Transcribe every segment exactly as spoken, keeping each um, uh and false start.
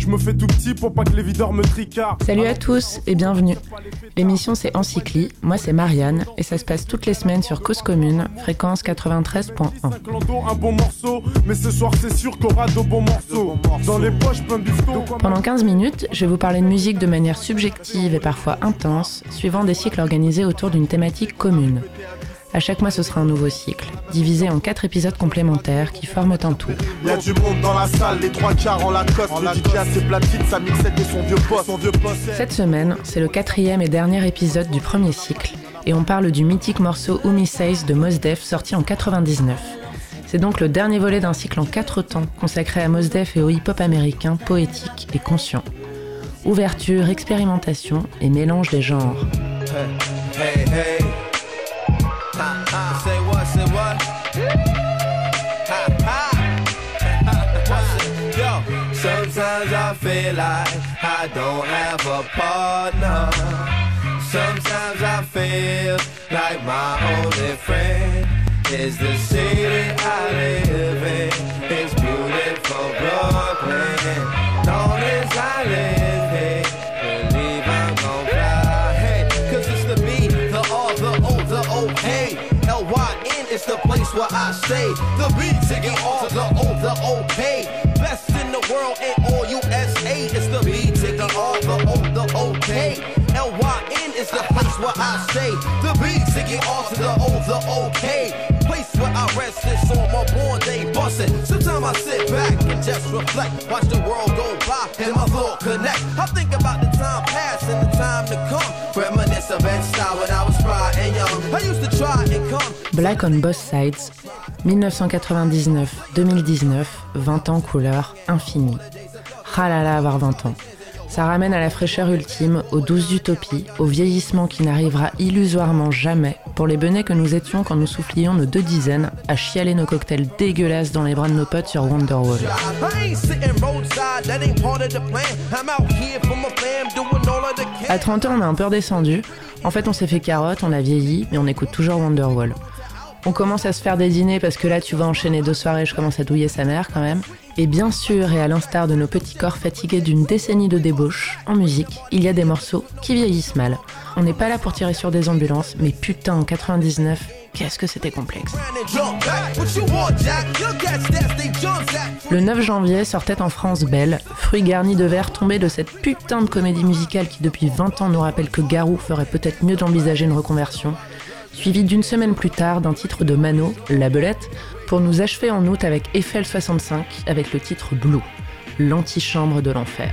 Je me fais tout petit pour pas que les videurs me tricardent. Salut à tous et bienvenue. L'émission c'est Encycli, moi c'est Marianne et ça se passe toutes les semaines sur Cause Commune, fréquence quatre-vingt-treize point un. Un bon morceau, mais ce soir c'est sûr qu'il y aura de bons morceaux. Dans les poches plein de bifton. Pendant quinze minutes, je vais vous parler de musique de manière subjective et parfois intense, suivant des cycles organisés autour d'une thématique commune. À chaque mois, ce sera un nouveau cycle, divisé en quatre épisodes complémentaires qui forment un tout. Il y a du monde dans la salle, les trois quarts en Lacoste. Le D J a ses platines, sa mixette et son vieux poste. Son vieux poste. Cette semaine, c'est le quatrième et dernier épisode du premier cycle, et on parle du mythique morceau Who Me Says de Mos Def, sorti en quatre-vingt-dix-neuf. C'est donc le dernier volet d'un cycle en quatre temps, consacré à Mos Def et au hip-hop américain, poétique et conscient. Ouverture, expérimentation et mélange des genres. Hey, hey, hey. Ha, ha. Say what, say what? Ha, ha. Yo, sometimes I feel like I don't have a partner. Sometimes I feel like my only friend is the city I live in. It's beautiful Brooklyn. Long as I live here, believe I'm gon' fly. Hey, cause it's the B, the R, the O, the O, hey. L Y N is the place where I stay. The B, the R, the O, the O, K. Best in the world in all U S A. It's the B, the R, the O, the O, K. L Y N is the place where I stay. The B, the R, the O, the O, K. Place where I rest is on my born day bustin'. Sometimes I sit back and just reflect. Watch the world go by and my thought connect. I think about the time past and the time to come. Reminisce of Ben-Style when I was bright and young. I used to try and come. Black on Both Sides, dix-neuf cent quatre-vingt-dix-neuf deux mille dix-neuf, vingt ans couleur infinie. Ah là là, avoir vingt ans. Ça ramène à la fraîcheur ultime, aux douces utopies, au vieillissement qui n'arrivera illusoirement jamais pour les benets que nous étions quand nous soufflions nos deux dizaines à chialer nos cocktails dégueulasses dans les bras de nos potes sur Wonderwall. À trente ans, on a un peu redescendu. En fait, on s'est fait carotte, on a vieilli, mais on écoute toujours Wonderwall. On commence à se faire des dîners parce que là, tu vas enchaîner deux soirées, je commence à douiller sa mère quand même. Et bien sûr, et à l'instar de nos petits corps fatigués d'une décennie de débauche, en musique, il y a des morceaux qui vieillissent mal. On n'est pas là pour tirer sur des ambulances, mais putain, en quatre-vingt-dix-neuf, qu'est-ce que c'était complexe. Le neuf janvier sortait en France Belle, fruit garni de verre tombé de cette putain de comédie musicale qui depuis vingt ans nous rappelle que Garou ferait peut-être mieux d'envisager une reconversion, suivi d'une semaine plus tard d'un titre de Mano, La Belette, pour nous achever en août avec Eiffel soixante-cinq, avec le titre Blue, l'antichambre de l'enfer.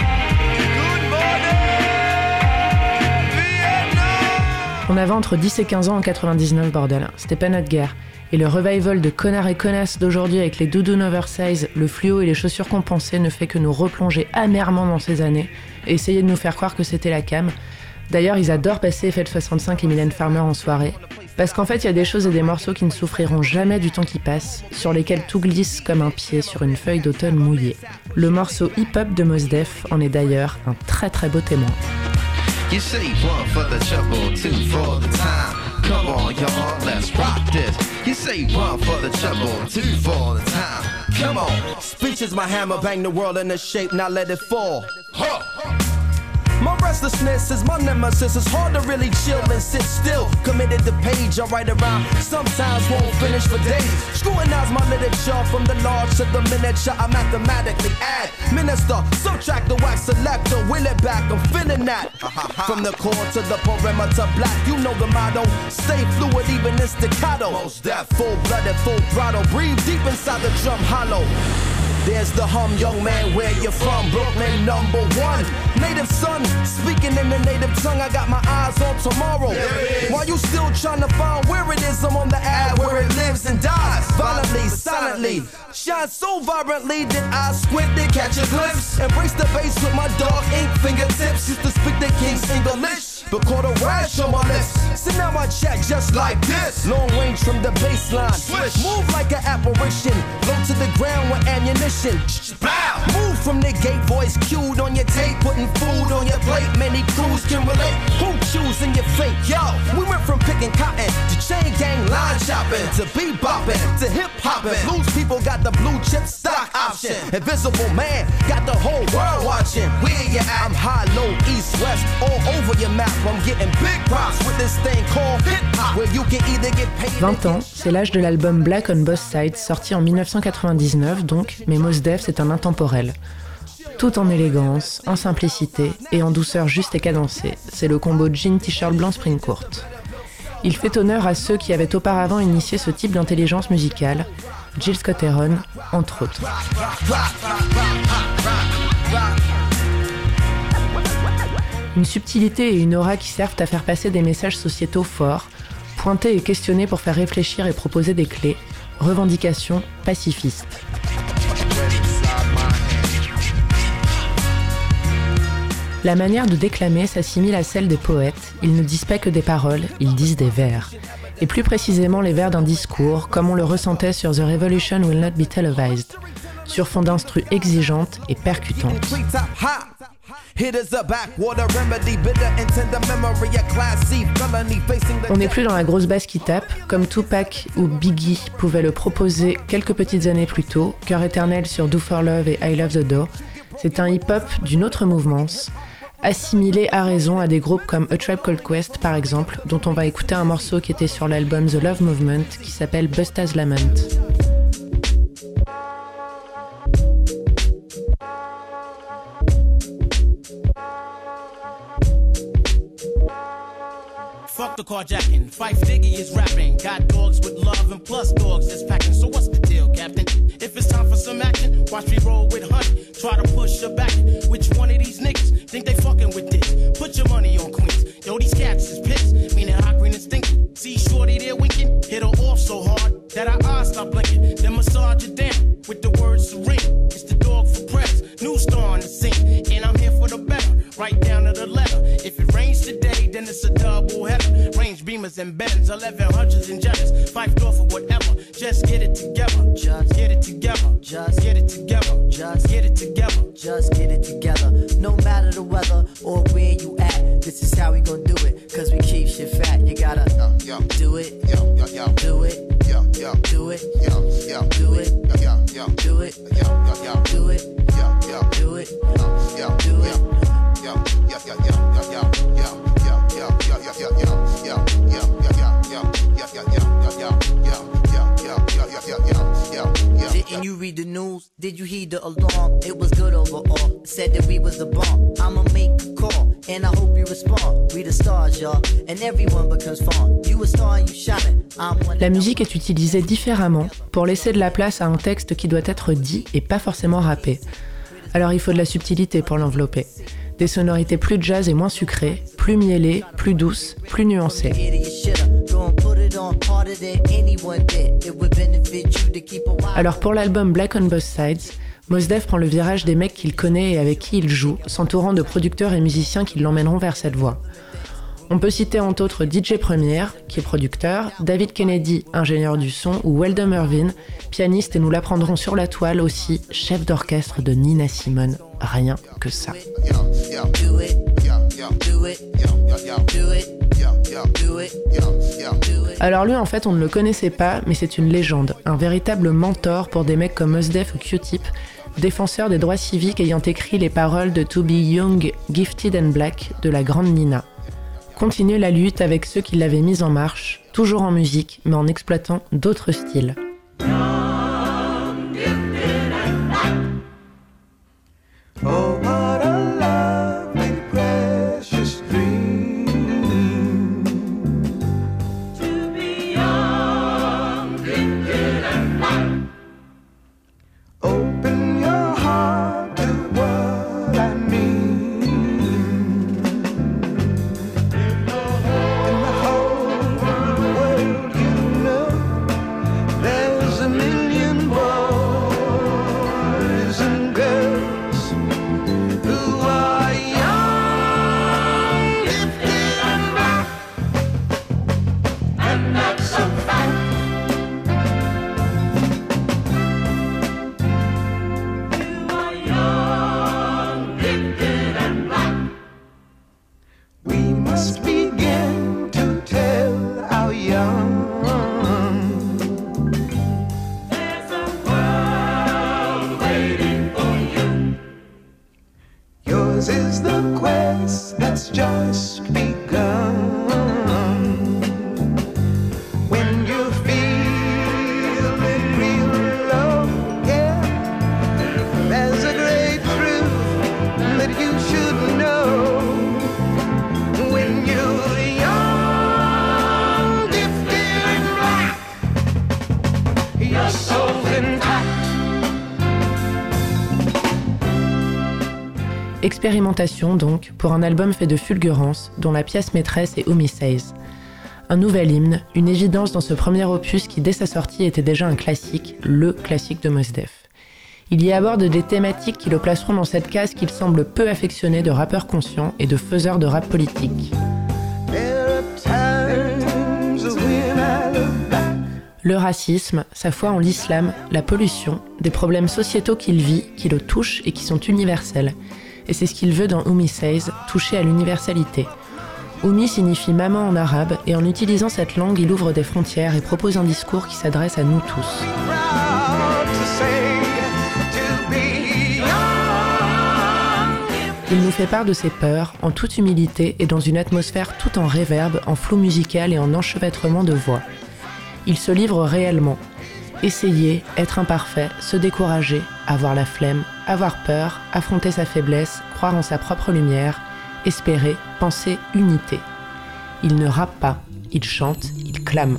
On avait entre dix et quinze ans en quatre-vingt-dix-neuf, bordel, c'était pas notre guerre. Et le revival de connards et connasses d'aujourd'hui avec les doudounes oversize, le fluo et les chaussures compensées ne fait que nous replonger amèrement dans ces années et essayer de nous faire croire que c'était la cam. D'ailleurs, ils adorent passer Eiffel soixante-cinq et Mylène Farmer en soirée. Parce qu'en fait, il y a des choses et des morceaux qui ne souffriront jamais du temps qui passe, sur lesquels tout glisse comme un pied sur une feuille d'automne mouillée. Le morceau hip-hop de Mos Def en est d'ailleurs un très très beau témoin. You say one for the trouble, two for the time. Come on, y'all, let's rock this. You say one for the trouble, two for the time. Come on. Speech is my hammer, bang the world into shape, now let it fall. Huh. My restlessness is my nemesis. It's hard to really chill and sit still. Committed to page, I write around. Sometimes won't finish for days. Scrutinize my literature from the large to the miniature. I mathematically add, minister, subtract the wax selector, will it back. I'm feeling that. From the core to the perimeter, black. You know the motto. Stay fluid, even in staccato. Most deaf, full-blooded, full throttle. Breathe deep inside the drum hollow. There's the hum, young man, where you from? Brooklyn, number one. Native son, speaking in the native tongue. I got my eyes on tomorrow. While you still trying to find where it is, I'm on the ad where it lives and dies. Violently, silently, shine so vibrantly that I squint to catch a glimpse. Embrace the bass with my dog ink fingertips. Used to speak the King's English, but caught a rash on my lips. So now I check just like this. Long range from the baseline. Swish. Move like an apparition. Low to the ground with ammunition. Bow. Move from the gate, voice cued on your tape. Putting food on your plate. Many crews can relate. Who choosing your fate? Yo, we went from picking cotton to chain gang line shopping to bebopping to hip hopping. Blues people got the blue chip stock option. watching. Invisible man, got the whole world watching. Where you at? I'm high, low, east, west, all over your map. I'm getting big props with this thing called hip-hop, where you can either get paid. vingt ans, c'est l'âge de l'album Black on Both Sides, sorti en dix-neuf cent quatre-vingt-dix-neuf donc, mais Mos Def c'est un intemporel. Tout en élégance, en simplicité et en douceur juste et cadencée, c'est le combo jean t-shirt blanc spring courte. Il fait honneur à ceux qui avaient auparavant initié ce type d'intelligence musicale, Jill Scott-Heron, entre autres. Une subtilité et une aura qui servent à faire passer des messages sociétaux forts, pointés et questionnés pour faire réfléchir et proposer des clés, revendications pacifistes. La manière de déclamer s'assimile à celle des poètes, ils ne disent pas que des paroles, ils disent des vers. Et plus précisément les vers d'un discours, comme on le ressentait sur The Revolution Will Not Be Televised, sur fond d'instru exigeante et percutante. On n'est plus dans la grosse basse qui tape, comme Tupac ou Biggie pouvaient le proposer quelques petites années plus tôt, Cœur éternel sur Do For Love et I Love The Dough. C'est un hip-hop d'une autre mouvance, assimilé à raison à des groupes comme A Tribe Called Quest par exemple, dont on va écouter un morceau qui était sur l'album The Love Movement qui s'appelle Busta's Lament. Fuck the carjacking, Fife Diggy is rapping. Got dogs with love and plus dogs that's packing. So what's the deal, Captain? If it's time for some action, watch me roll with honey. Try to push her back. Which one of these niggas think they fucking with this? Put your money on Queens. Yo, these cats is pissed. Meaning hot green and stinking. See shorty there winking. Hit her off so hard that her eyes stop blinking. Then massage her down with the word serene. It's the dog for press. New star on the scene. And I'm here for the better. Right down to the letter. If it rains today, then it's a double header. Range beamers and Benz, eleven hundreds and Jetters. Five door for whatever. Just get it together. Just get it together. Just get it together. Just get it together. Just get it together. No matter the weather or where you at, this is how we gon' do it. Cause we keep shit fat. You gotta yo, yo, do it. Yo, yo, yo, do it. Yo, yo, do it. Yo, yo, do it. Yo, yo, do it. Yo, yo, yo, do it. Yo, yo, do it. Yo, yo, do it. Yo, yo, yo, yo, yo, yo, yo. Didn't you read the news? Did you heed the alarm? It was good overall. Said that we was the bomb. I'ma make a call, and I hope you respond. We the stars, y'all, and everyone becomes fun. You a star and you shining. La musique est utilisée différemment pour laisser de la place à un texte qui doit être dit et pas forcément rappé. Alors il faut de la subtilité pour l'envelopper. Des sonorités plus jazz et moins sucrées, plus mielées, plus douces, plus nuancées. Alors pour l'album Black on Both Sides, Mos Def prend le virage des mecs qu'il connaît et avec qui il joue, s'entourant de producteurs et musiciens qui l'emmèneront vers cette voie. On peut citer entre autres D J Premier, qui est producteur, David Kennedy, ingénieur du son, ou Weldon Irvin, pianiste et nous l'apprendrons sur la toile aussi, chef d'orchestre de Nina Simone. Rien que ça. Alors lui en fait on ne le connaissait pas, mais c'est une légende, un véritable mentor pour des mecs comme Mos Def ou Q-Tip, défenseur des droits civiques ayant écrit les paroles de To Be Young, Gifted and Black de la grande Nina. Continuer la lutte avec ceux qui l'avaient mise en marche, toujours en musique, mais en exploitant d'autres styles. Oh, what a lovely, precious dream to be young, gifted and black. Open your heart to what I mean. In the whole, in the whole world, you know that is the quest that's just begun. When you feel it real low, yeah, there's a great truth that you should know. When you're young, gifted and black, your soul's intact. Expérimentation donc, pour un album fait de fulgurance, dont la pièce maîtresse est Who Me Says. Un nouvel hymne, une évidence dans ce premier opus qui dès sa sortie était déjà un classique, le classique de Mos Def. Il y aborde des thématiques qui le placeront dans cette case qu'il semble peu affectionné de rappeur conscient et de faiseur de rap politique. Le racisme, sa foi en l'islam, la pollution, des problèmes sociétaux qu'il vit, qui le touchent et qui sont universels. Et c'est ce qu'il veut dans Who Me Says, toucher à l'universalité. Oumi signifie maman en arabe, et en utilisant cette langue, il ouvre des frontières et propose un discours qui s'adresse à nous tous. Il nous fait part de ses peurs, en toute humilité et dans une atmosphère tout en réverb, en flou musical et en enchevêtrement de voix. Il se livre réellement. Essayer, être imparfait, se décourager, avoir la flemme, avoir peur, affronter sa faiblesse, croire en sa propre lumière, espérer, penser unité. Il ne rappe pas, il chante, il clame.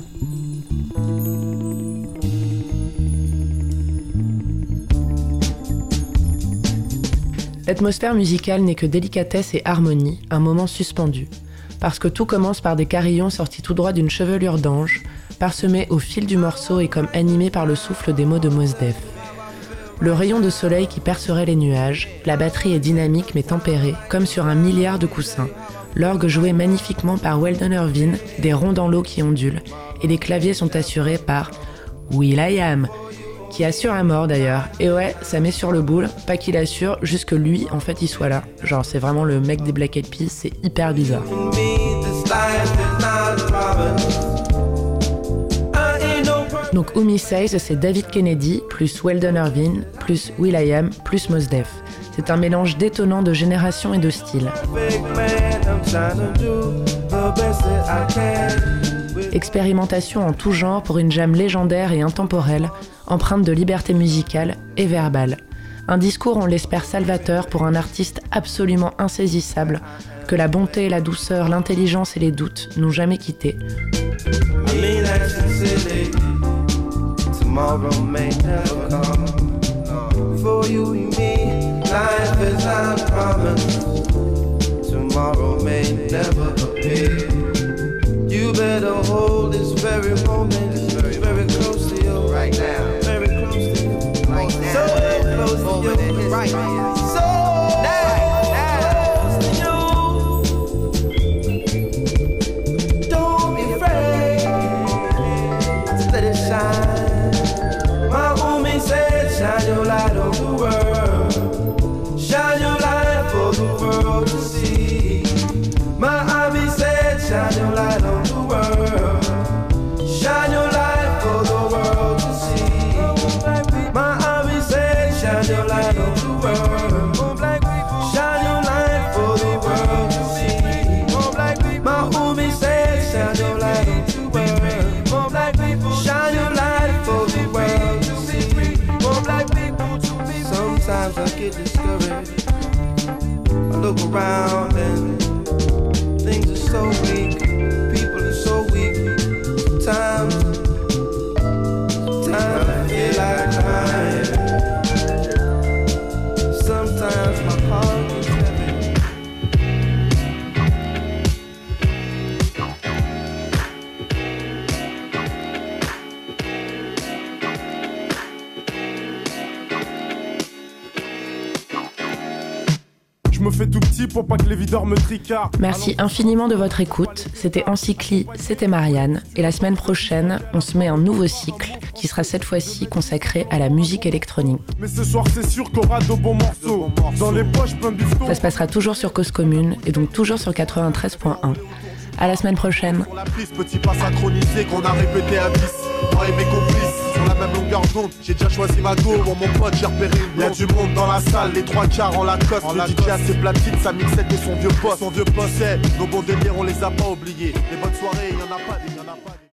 L'atmosphère musicale n'est que délicatesse et harmonie, un moment suspendu. Parce que tout commence par des carillons sortis tout droit d'une chevelure d'ange, parsemés au fil du morceau et comme animés par le souffle des mots de Mos Def. Le rayon de soleil qui percerait les nuages, la batterie est dynamique mais tempérée, comme sur un milliard de coussins. L'orgue joué magnifiquement par Weldon Irvine, des ronds dans l'eau qui ondulent, et les claviers sont assurés par will.i.am, qui assure à mort d'ailleurs. Et ouais, ça met sur le boule, pas qu'il assure, juste que lui, en fait, il soit là. Genre, c'est vraiment le mec des Black Eyed Peas, c'est hyper bizarre. Donc Who Me Says, c'est David Kennedy, plus Weldon Irvine, plus will.i.am, plus Mos Def. C'est un mélange détonnant de génération et de style. Expérimentation en tout genre pour une jam légendaire et intemporelle, empreinte de liberté musicale et verbale. Un discours, on l'espère, salvateur pour un artiste absolument insaisissable, que la bonté et la douceur, l'intelligence et les doutes n'ont jamais quitté. Tomorrow may never come. For you and me, life is our promise. Tomorrow may never appear. You better hold this very moment, very, very close to you right now. Very close to you, right now. So close to you, right now. So close to you. Don't be afraid. Just let it shine. Shine your light on the world. Shine your light for the world to see. My Abby said, shine your light on the world. Shine your light for the world to see. My Abby said, shine your light on the world. Shine your light for the world to see. My Umi said, shine your light on the world. Shine your light for the world to see. Sometimes I get discouraged. I look around and things are so weak. People are so weak. Sometimes, sometimes I feel like crying. Sometimes my heart gets heavy. Je me fais tout petit pour pas que les videurs me tricardent. Merci infiniment de votre écoute. C'était Encycli, c'était Marianne. Et la semaine prochaine, on se met un nouveau cycle qui sera cette fois-ci consacré à la musique électronique. Mais ce soir, c'est sûr qu'on aura de bons morceaux. Dans les poches, plein de bifton. Ça se passera toujours sur Cause Commune et donc toujours sur quatre-vingt-treize point un. À la semaine prochaine. Sur la piste, petit pas synchronisé qu'on a répété à dix. Moi et mes complices, sur la même longueur d'onde. compte, j'ai déjà choisi ma go. Pour mon pote, j'ai repéré une. Y'a du monde dans la salle, les trois quarts en la cote. Le D J a ses platines, sa mixette et son vieux boss. Son vieux boss, nos bons délires, on les a pas oubliés. Les bonnes soirées, y'en a pas, y'en a pas.